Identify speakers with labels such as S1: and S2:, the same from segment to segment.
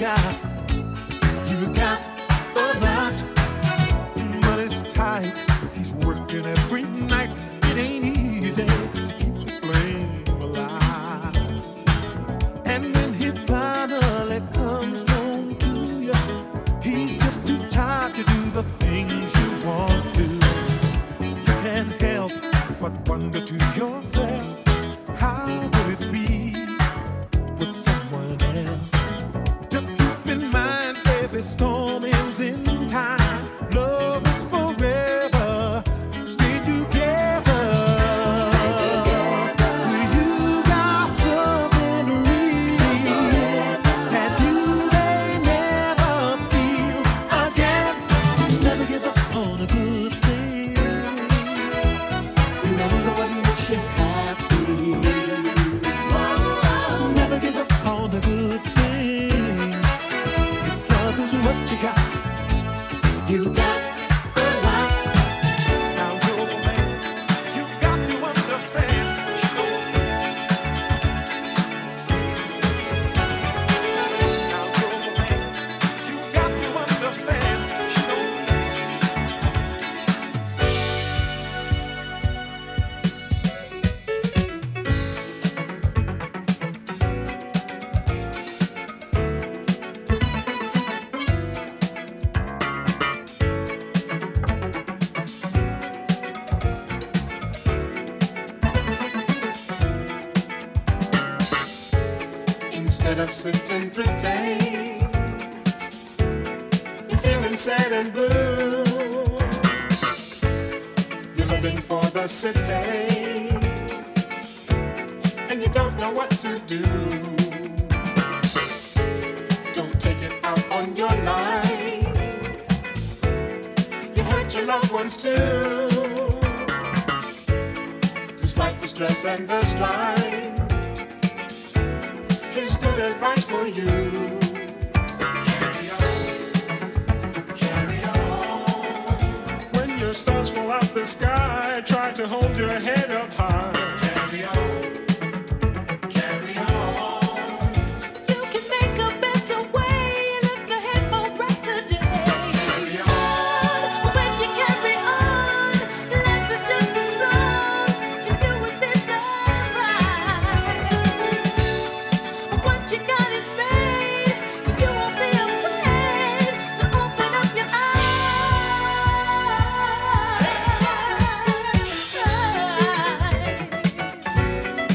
S1: You got a lot, but it's tight. He's working every night. It ain't easy to keep the flame alive. And when he finally comes home to you, he's just too tired to do the things you want to. You can't help but wonder to yourself, how would it be with someone else? Just keep in mind, every storm ends in time. Love is forever. Stay together. You got something real that you may never feel again. Never give up on a good thing. You never know what makes you happy. Never give up on a good thing. If love is what you got, you got a lot. Now you're a man, you got to understand. Now you're a man, you got to understand.
S2: Instead of sitting pretend, you're feeling sad and blue. You're living for the city, and you don't know what to do. Don't take it out on your life. You hurt your loved ones too. Despite the stress and the strife, here's good advice for you. Carry on, carry on. When your stars fall out the sky, try to hold your head up high. Carry on, carry on. You can make a better way. Look ahead for brighter days. Carry on. When you carry on, life is just a song. And you will be so right. Once you got it made, you won't be afraid to open up your eyes.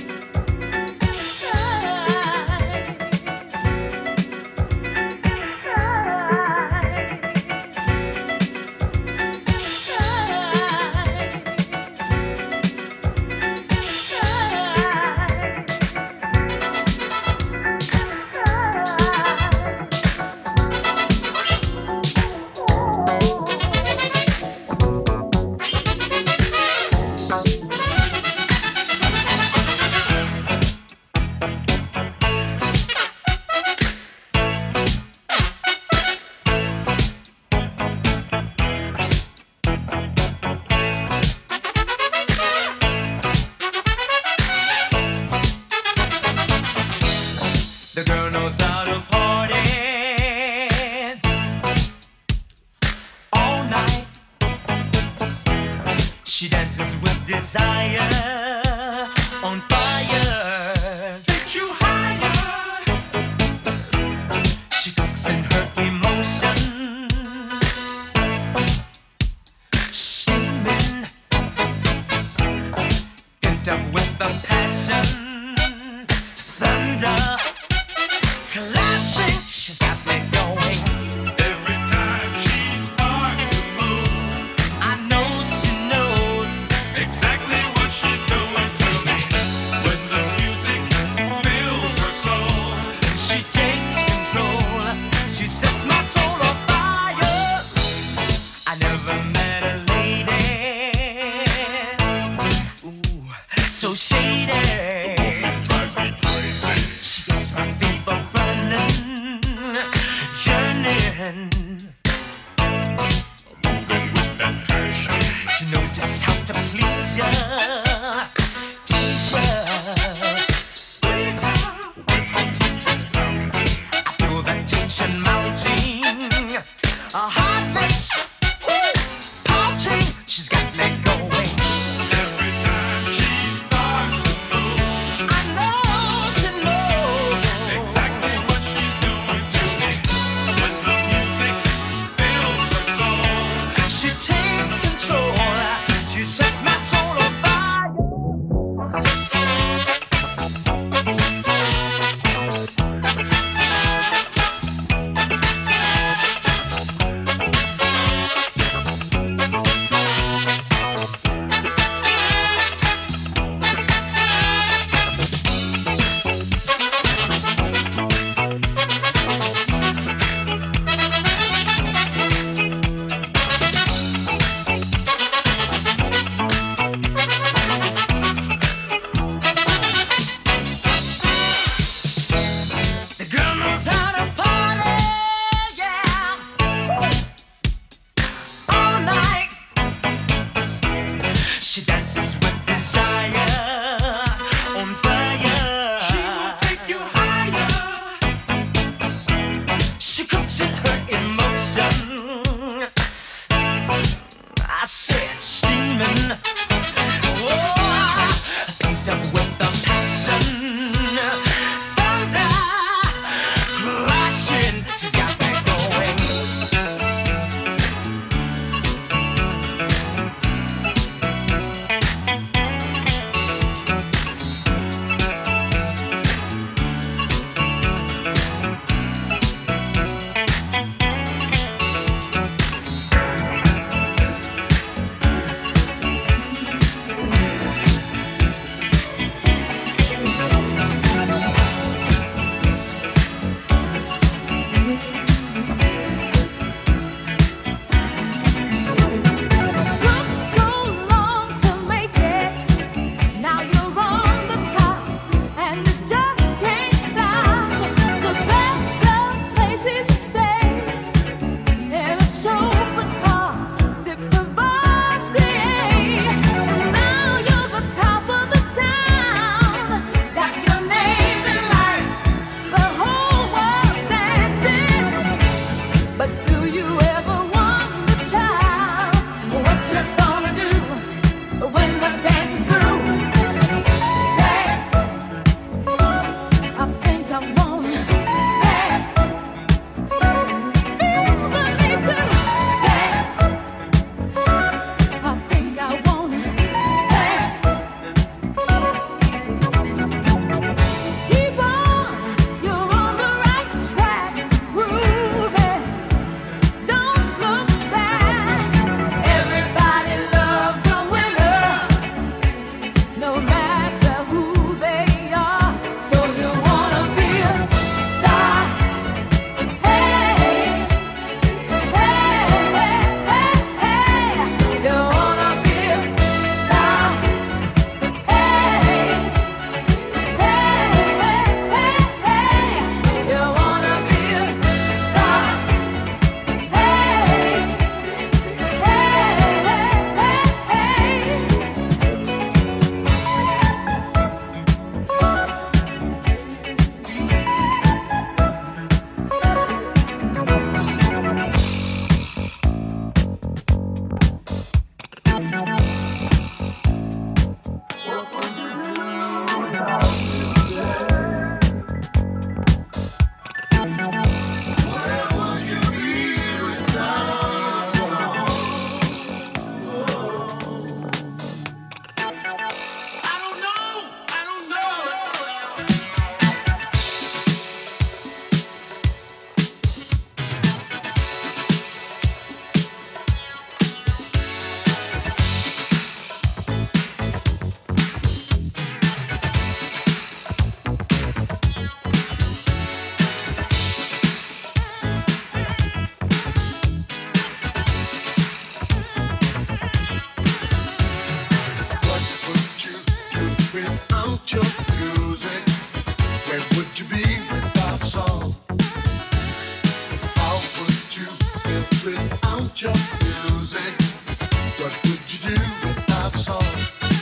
S1: Where would you be without song? How would you feel without your music? What would you do without song?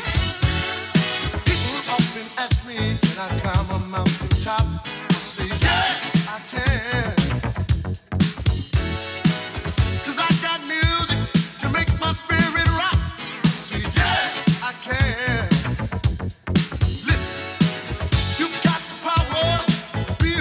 S1: People often ask me, can I climb a mountain top? I say, yes, I can. 'Cause I got music to make my spirit rock. I say, yes, I can. Listen, you got the power, be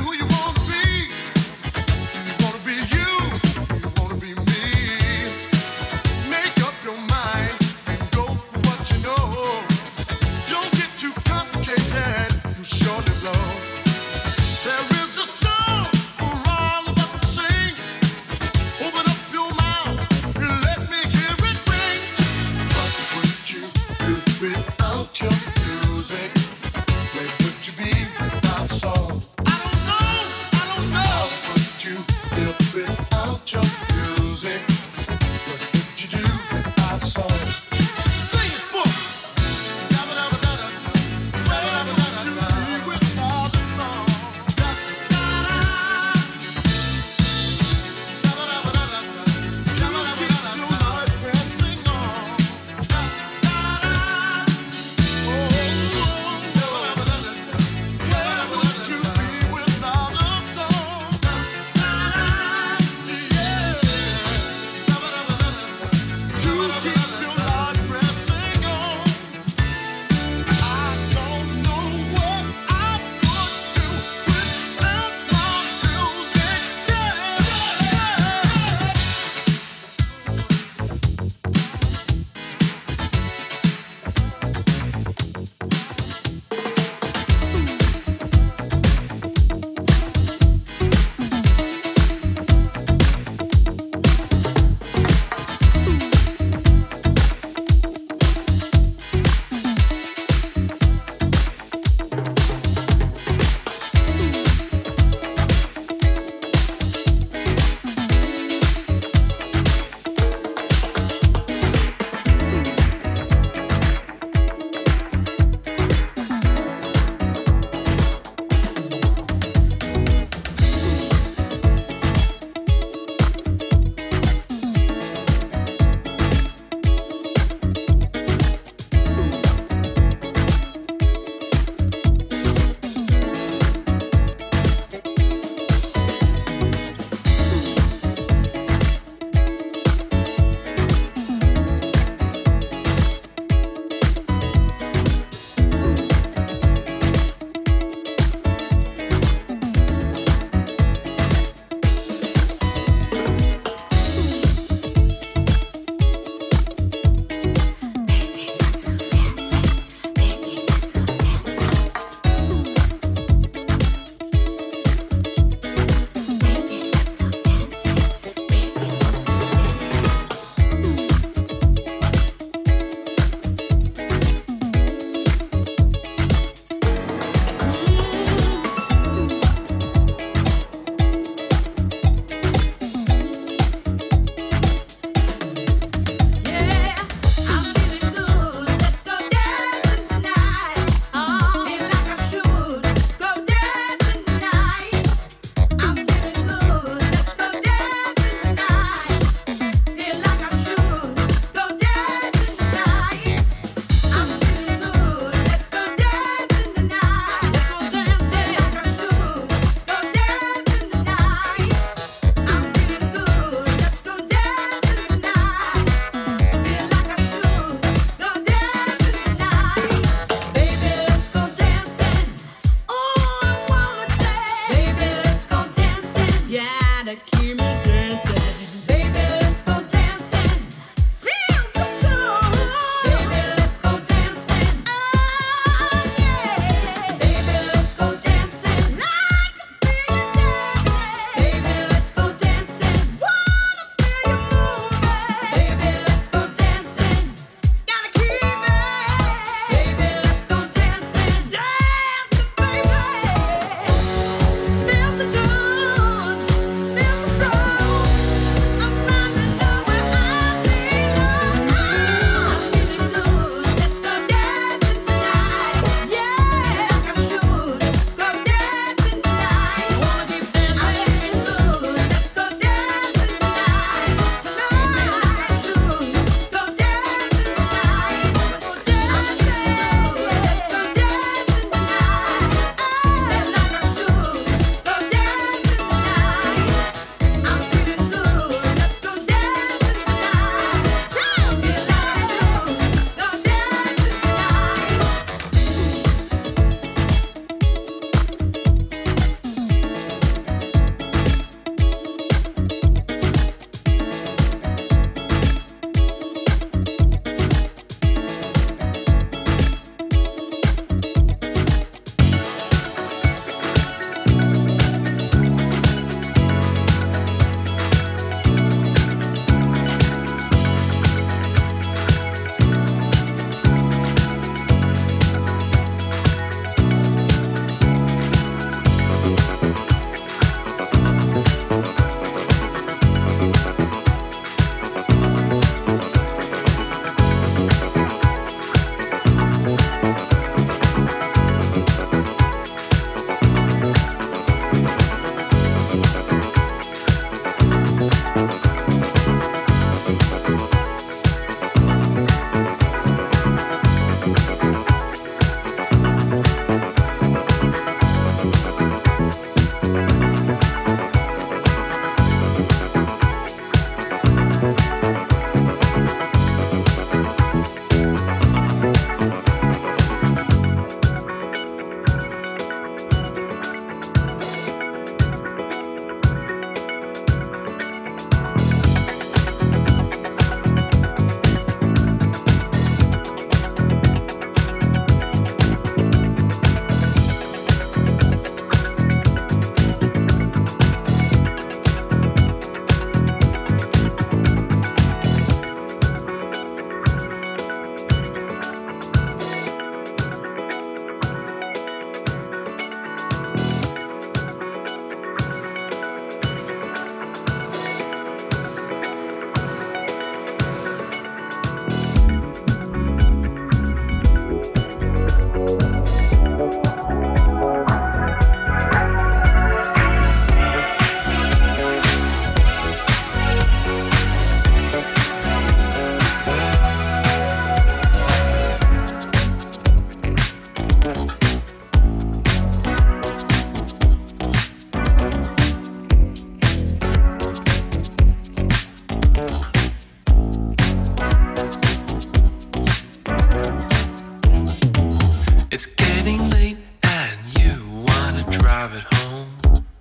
S3: drive it home,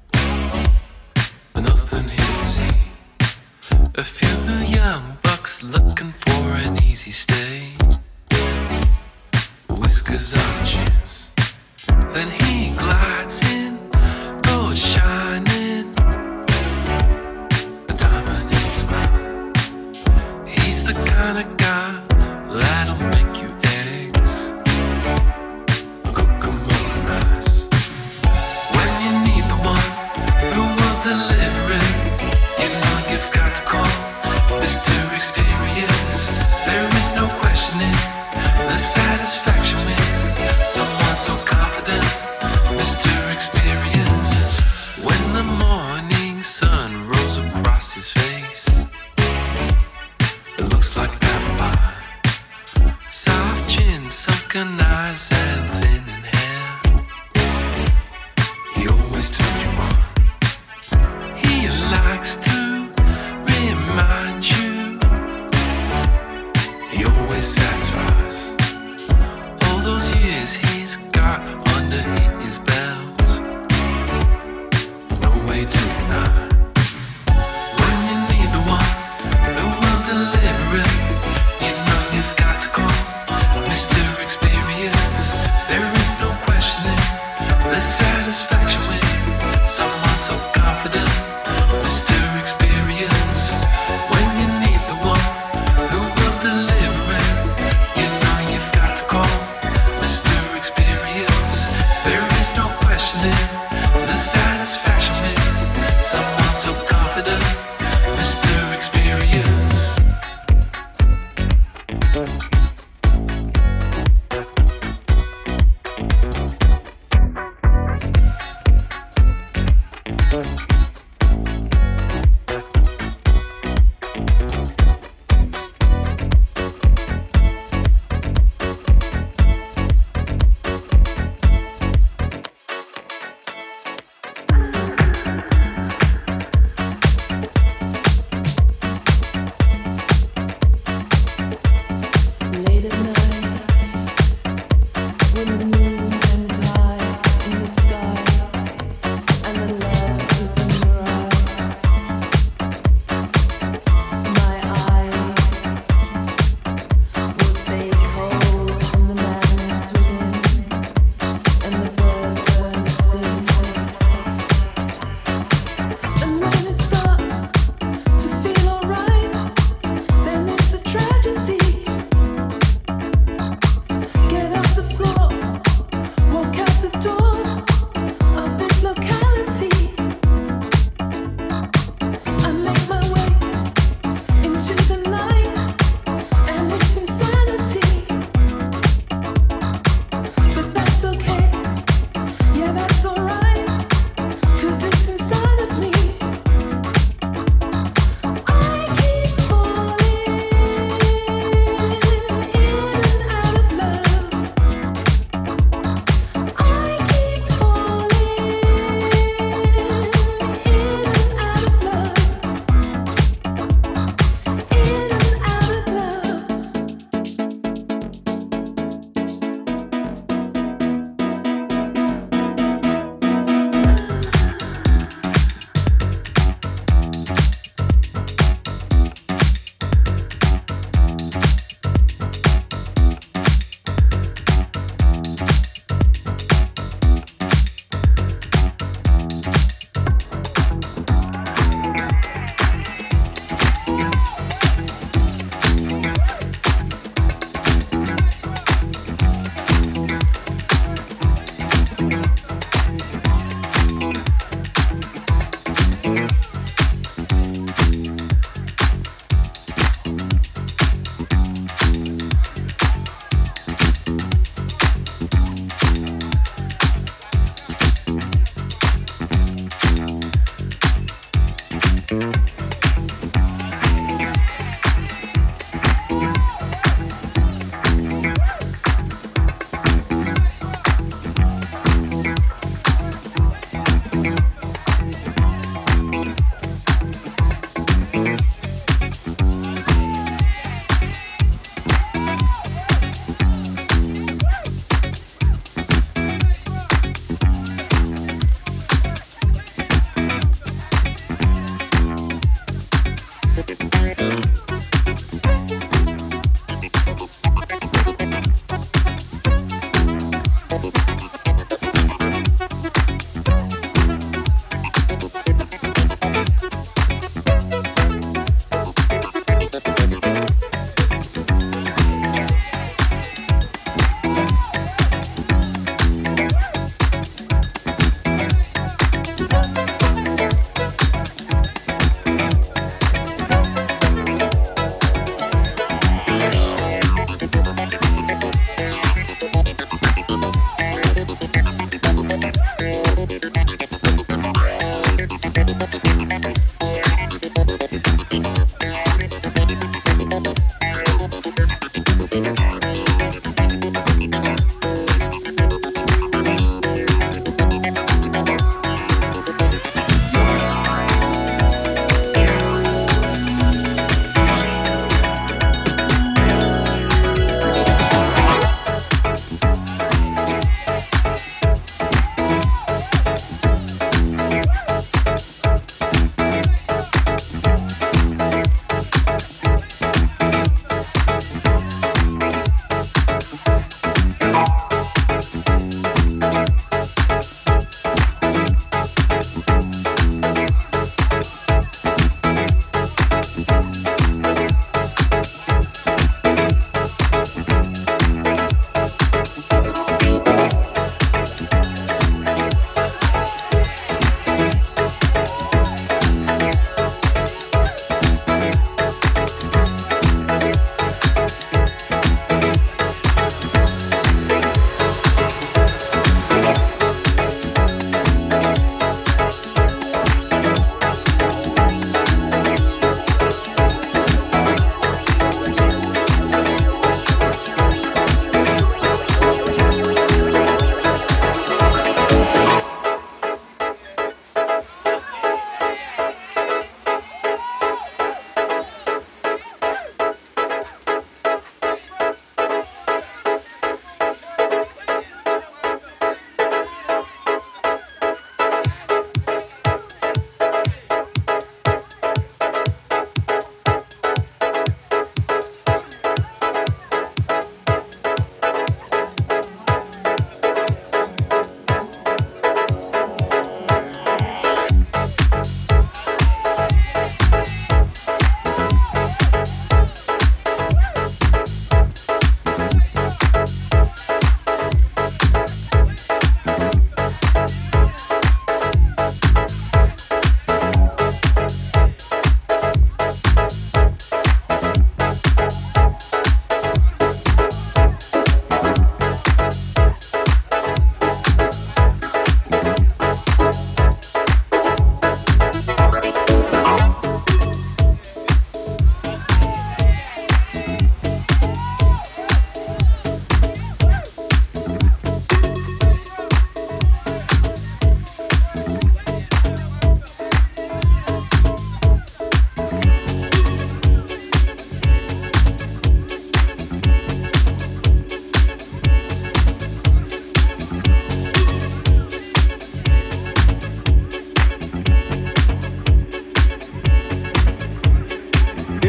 S3: but nothing here to see. A few young bucks looking for an easy stay. Whiskers on chins. Then he glides in, gold shining, a diamond in his smile. He's the kind of guy that'll make you eggs, cook 'em all nice. When you need the one who will deliver it, you know you've got to call Mr. Experience. There is no questioning the satisfaction with someone so confident, Mr. Experience. When the morning sun rolls across his face, it looks like apple pie. Soft chin, sunken eyes, and thinning hair. He always turned you on. He likes to remind you. He always satisfies. All those years he's got under his belt, no way to deny. When you need the one who will deliver it, you know you've got to call Mr. Experience. There is no questioning the satisfaction with someone so confident, Mr. Experience. When you need the one who will deliver it, you know you've got to call Mr. Experience. There is no questioning the satisfaction with someone so confident, Mr. Experience.
S4: Late at night, when the moon hangs high in the sky, and the love is in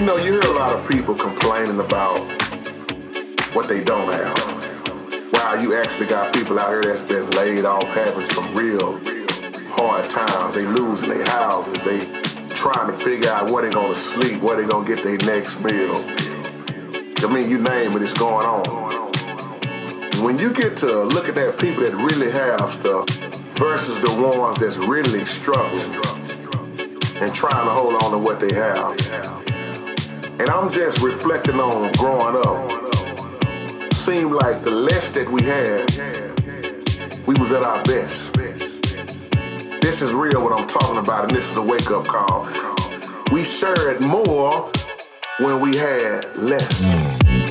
S5: know, you hear a lot of people complaining about what they don't have. Wow, you actually got people out here that's been laid off having some real hard times. They losing their houses. They trying to figure out where they gonna sleep, where they gonna get their next meal. I mean, you name it, it's going on. When you get to look at that people that really have stuff versus the ones that's really struggling and trying to hold on to what they have. And I'm just reflecting on growing up. Seemed like the less that we had, we was at our best. This is real what I'm talking about, and this is a wake-up call. We shared more when we had less.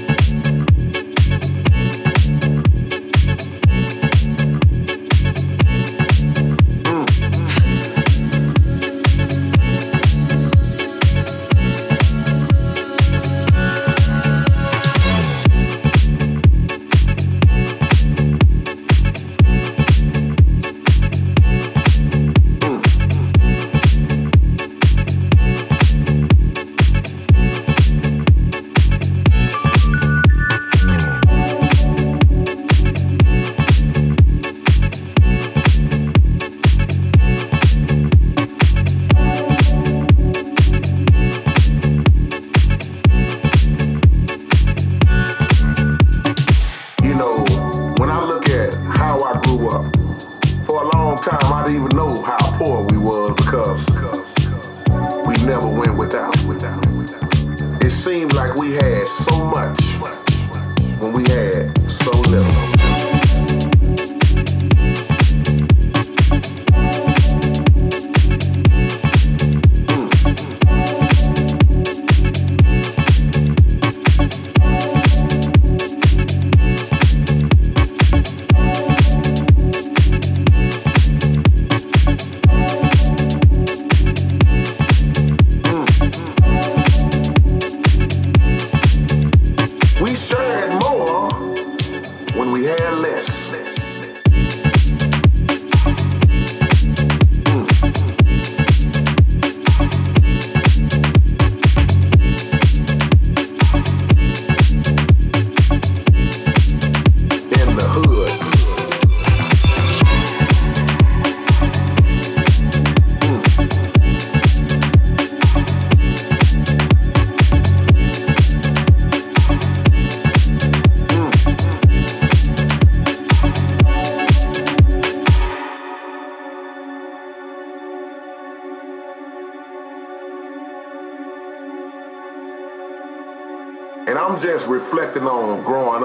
S5: And I'm just reflecting on growing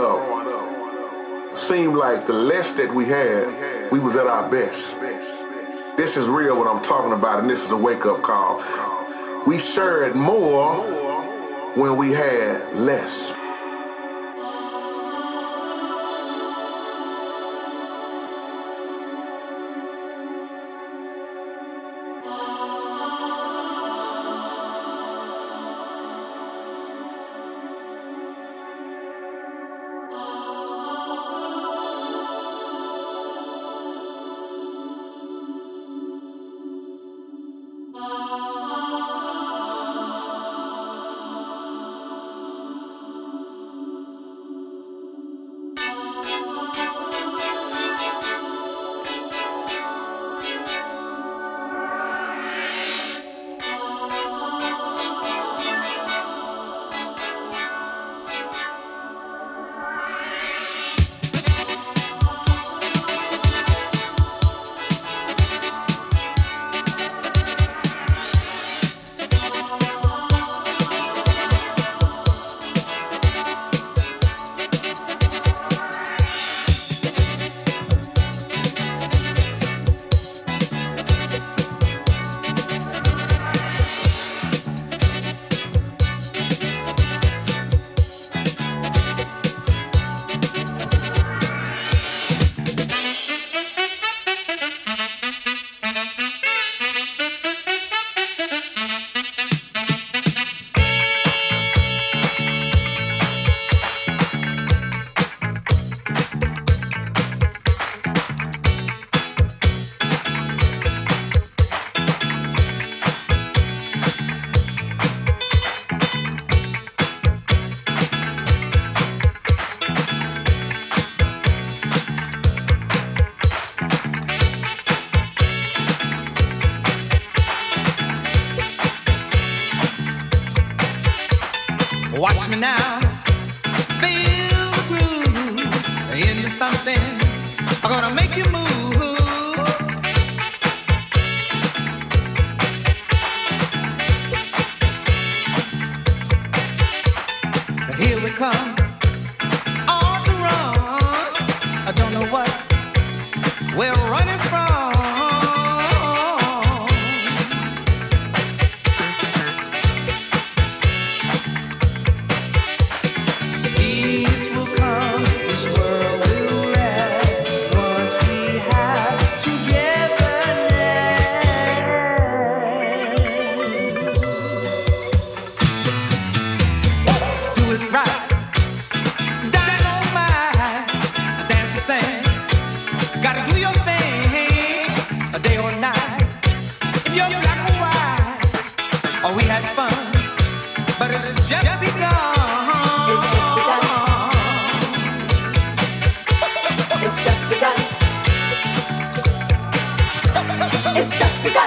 S5: up. Seemed like the less that we had, we was at our best. This is real what I'm talking about, and this is a wake-up call. We shared more when we had less.
S6: Watch me now, feel the groove into something. I'm gonna make you move. Here we come, on the run. I don't know what we're running from. Peace will come, this world will rest once we have togetherness. Do it right, dynamite, dance the same. Gotta do your thing, a day or night. If you're black or white, oh, we had fun, but it's just begun.
S4: It's just begun. It's just begun. It's just begun.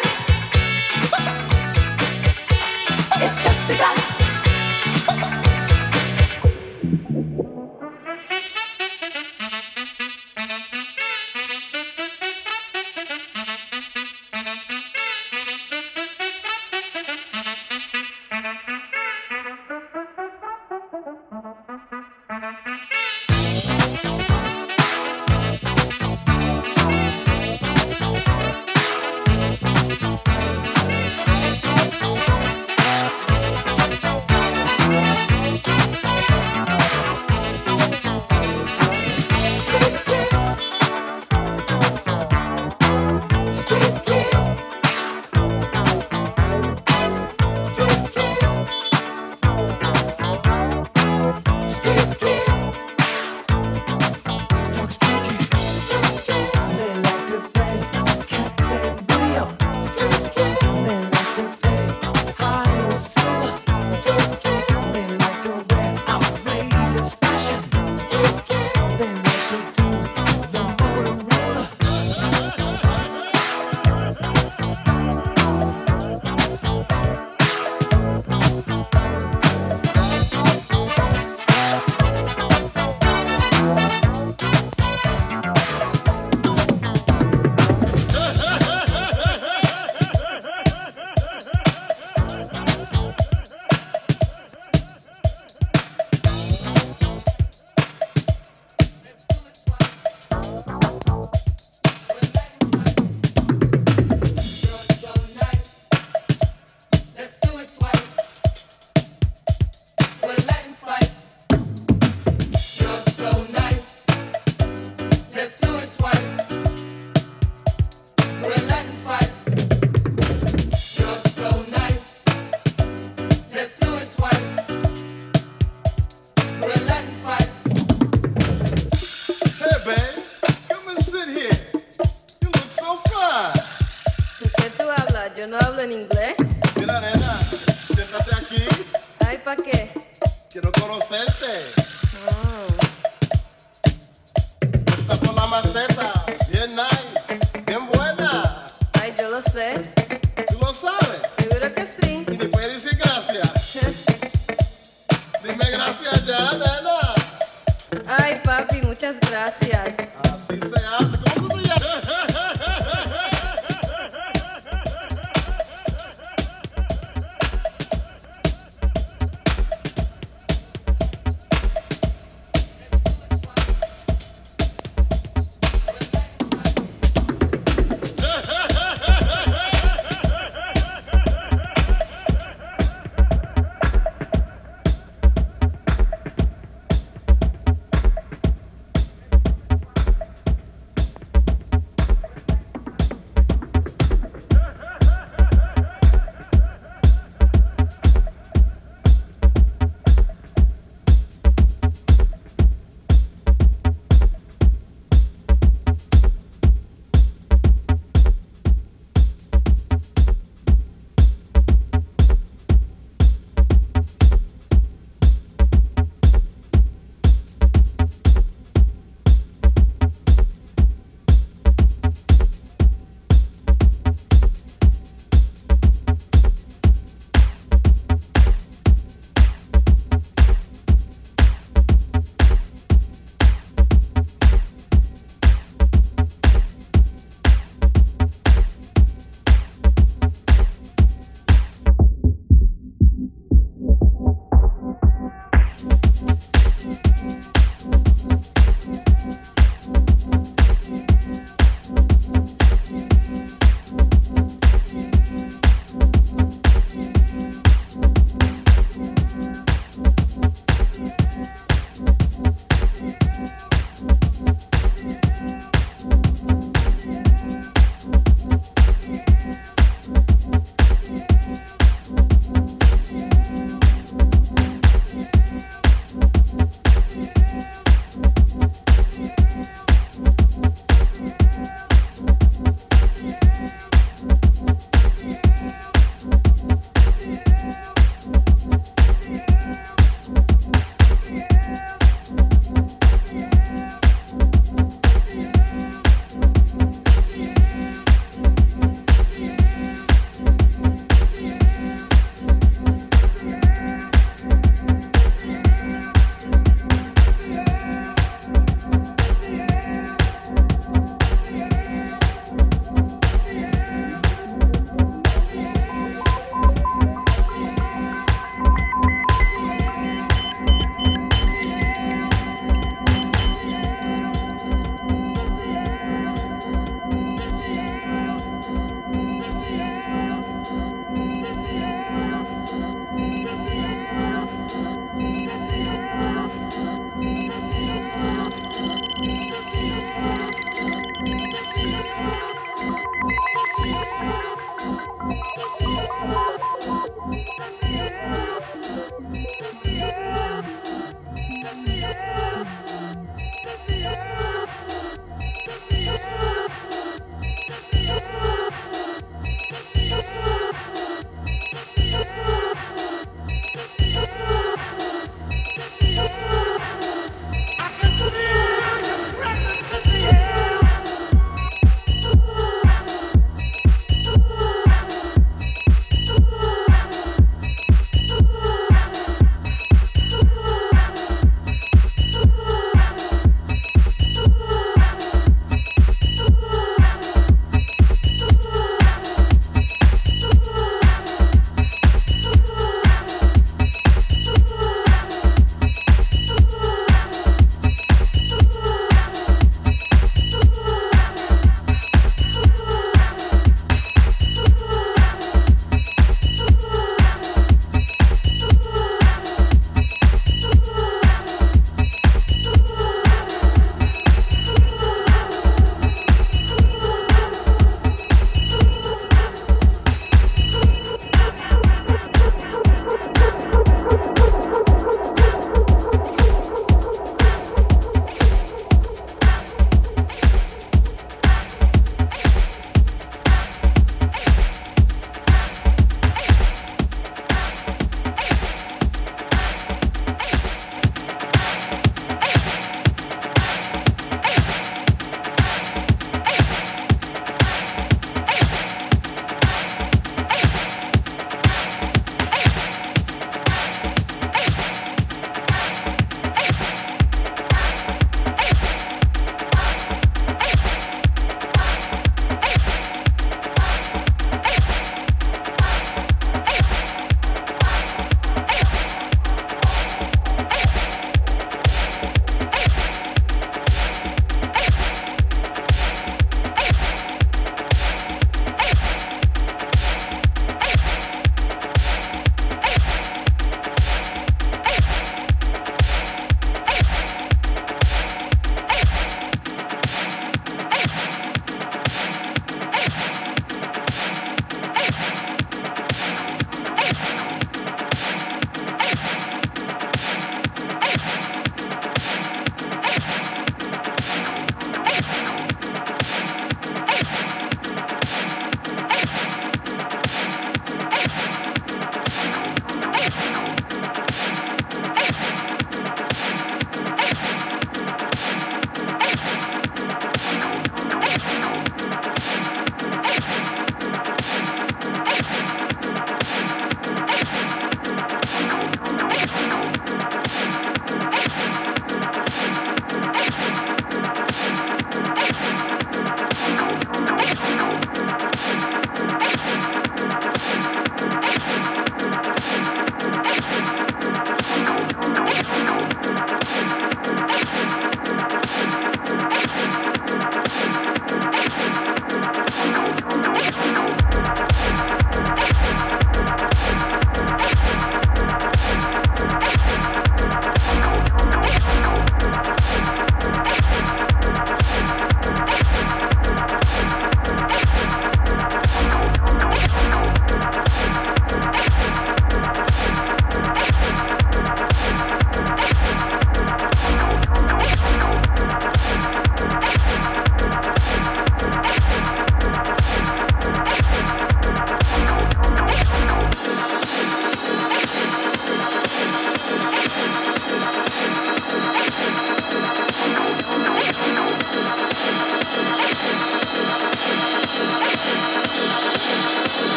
S4: It's just begun.
S7: Yo no hablo en inglés.
S8: Mira, nena, siéntate aquí.
S7: Ay, ¿pa' qué?
S8: Quiero conocerte.
S7: Oh.
S8: Está por la maceta. Bien nice. Bien buena.
S7: Ay, yo lo sé.
S8: ¿Tú lo sabes?
S7: Seguro que sí.
S8: ¿Y me puedes decir gracias? Dime gracias ya, nena.
S7: Ay, papi, muchas gracias.
S8: Así se hace. ¿Cómo tú te llamas?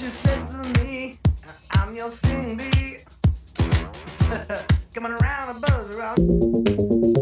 S6: you said to me, I'm your Cindy. Coming around a buzz around.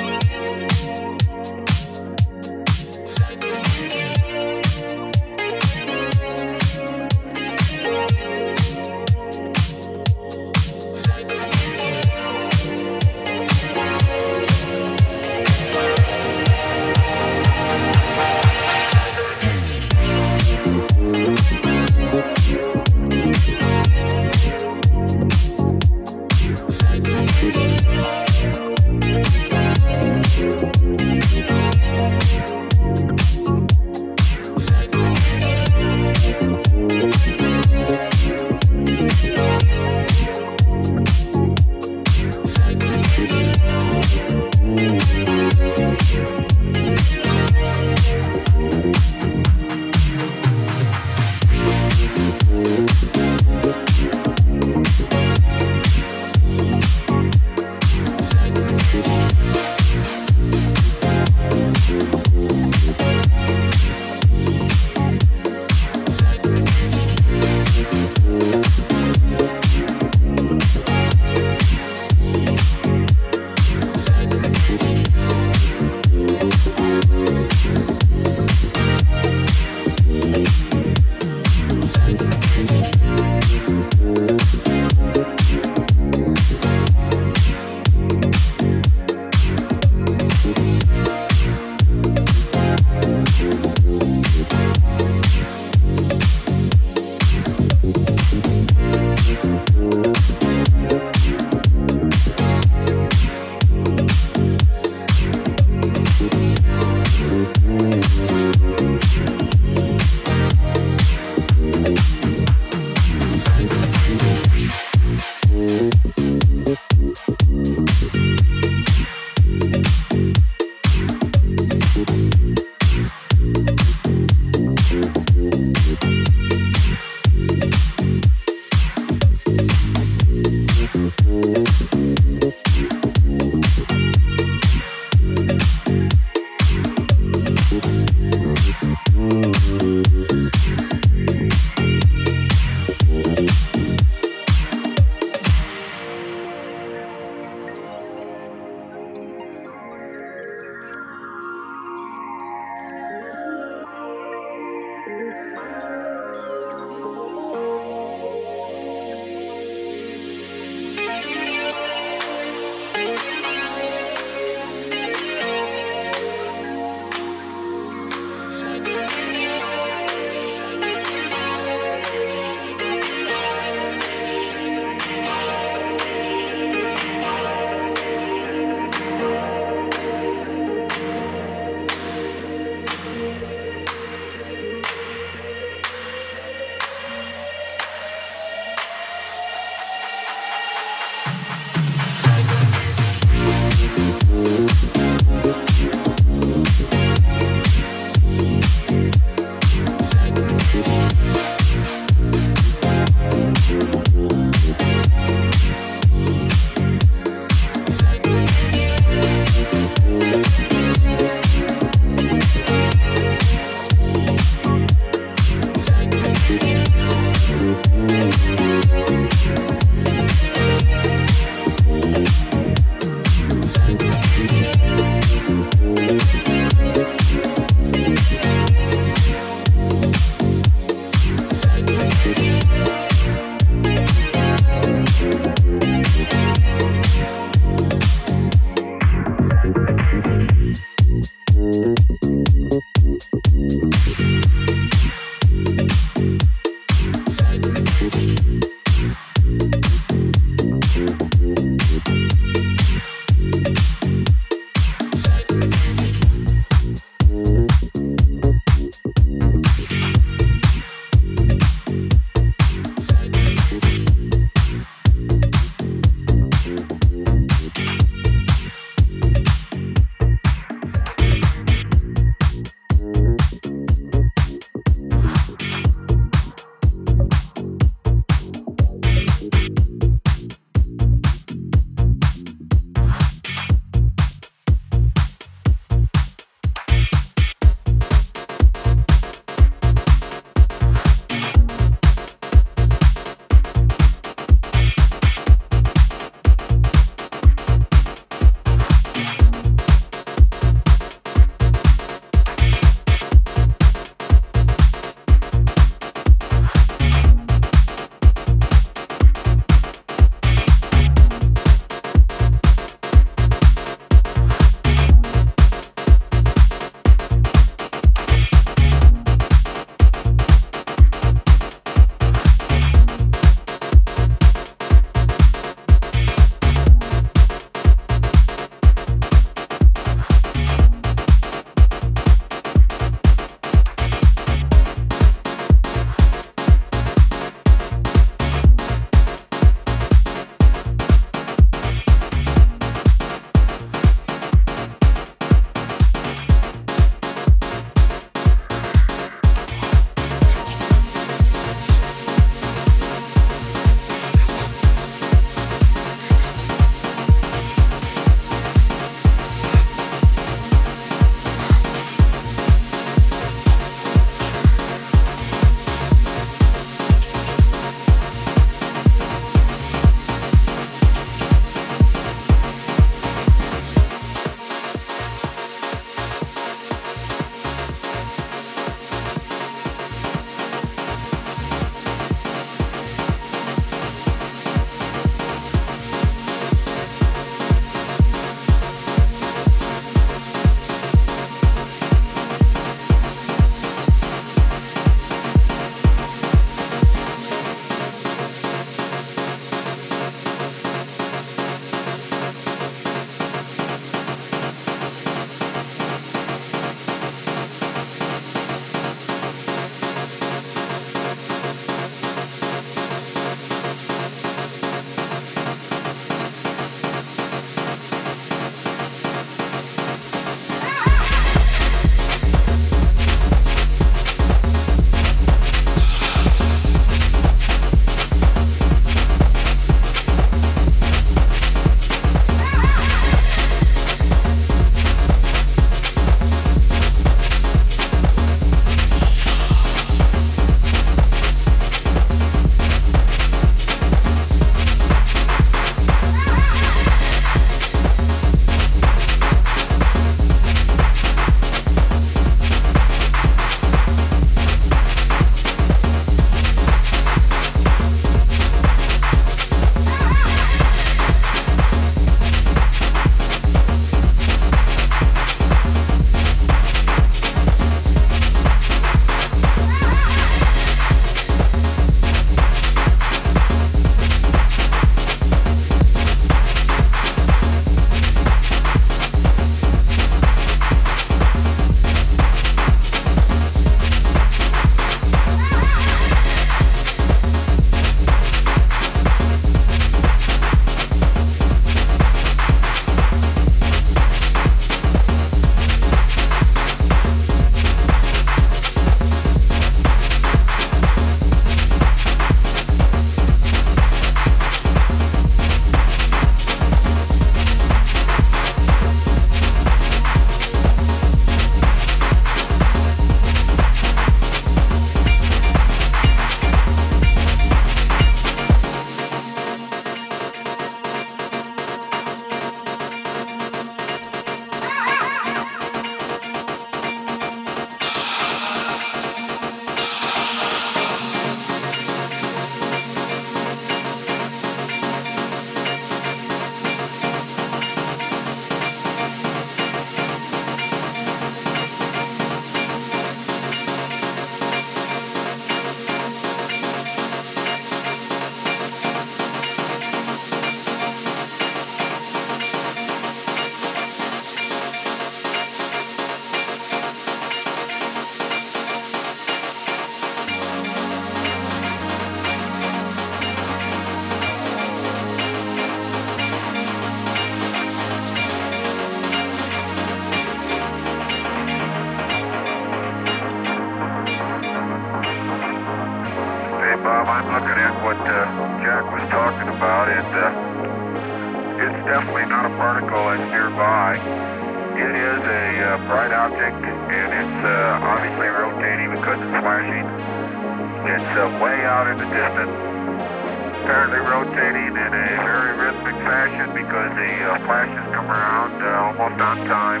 S9: I'm looking at what Jack was talking about, and it's definitely not a particle that's nearby. It is a bright object, and it's obviously rotating because it's flashing. It's way out in the distance, apparently rotating in a very rhythmic fashion because the flashes come around almost on time.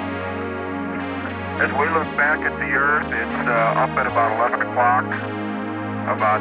S9: As we look back at the Earth, it's up at about 11 o'clock, about,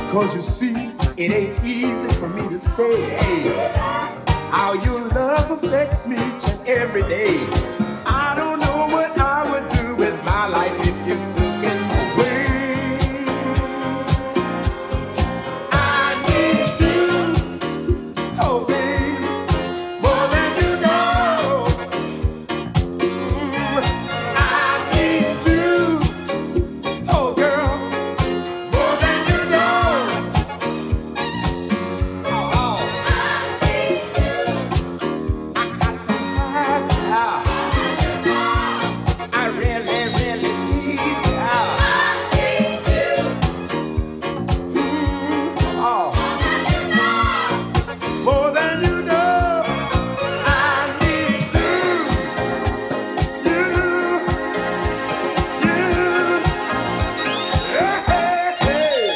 S10: 'Cause you see, it ain't easy for me to say, hey, how your love affects me each and every day. I don't know what I would do with my life if you took it away. I need you, oh baby, more than you know. I need you, oh girl, more than you know. Oh, I need you. I got to have you. I really, really need you. I need you. Oh, more than you know. I need you. You. Hey, hey, hey.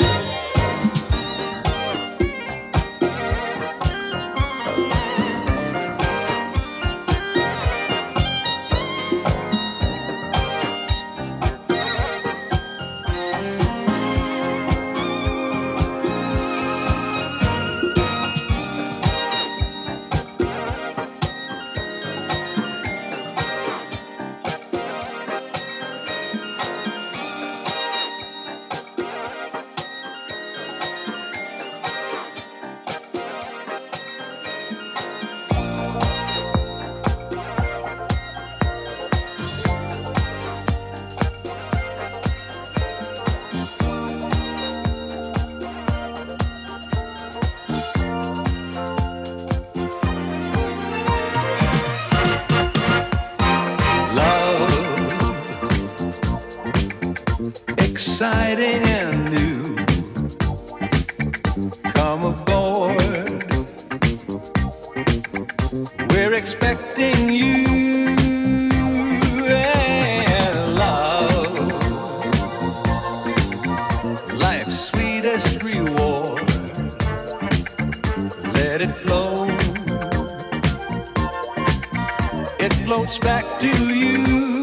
S3: Exciting and new. Come aboard. We're expecting you and love. Life's sweetest reward. Let it flow. It floats back to you.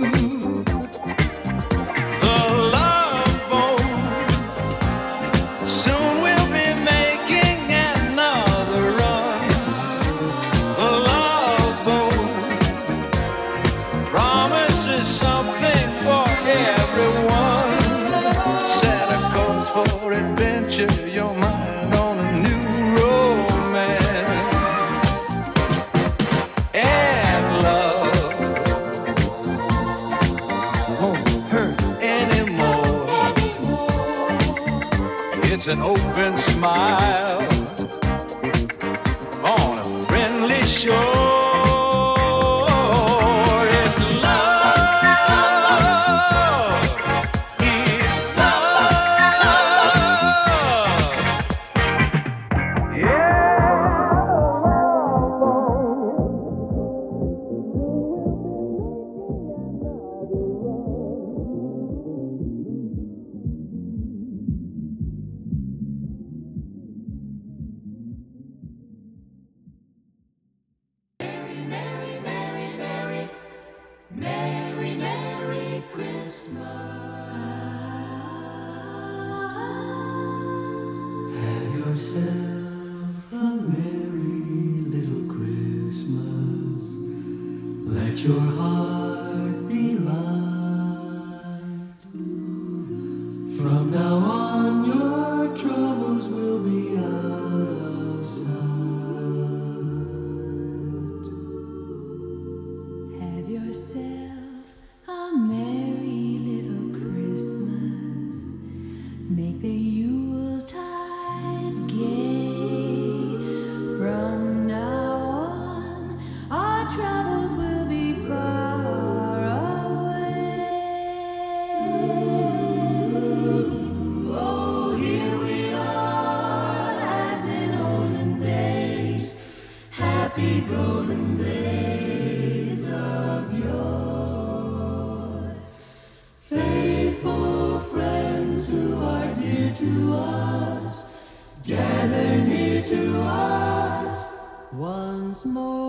S3: Your mind on a new romance and love won't hurt anymore. It's an open smile on a friendly shore. It's love. It's
S4: Merry, Merry Christmas.
S11: Have yourself a merry little Christmas. Let your heart be light. From now on, your troubles will be out of sight.
S4: Have yourself a merry little Christmas. Make the Yuletide gay. From now on, our troubles will be far away. Oh, here we are, as in olden days, happy golden days of yore. Faithful friends who are dear to us, gather near to us once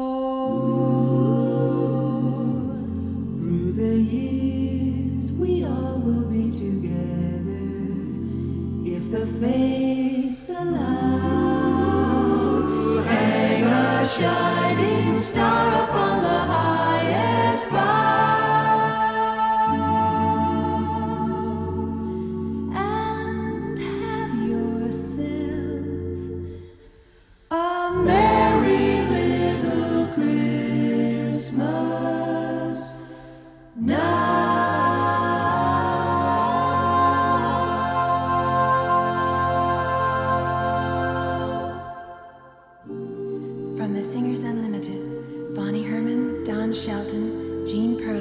S4: more. Through the years, we all will be together if the fates a shining star upon the highest bough. And have yourself a merry little Christmas now.
S12: From the Singers Unlimited, Bonnie Herman, Don Shelton, Gene Perlin,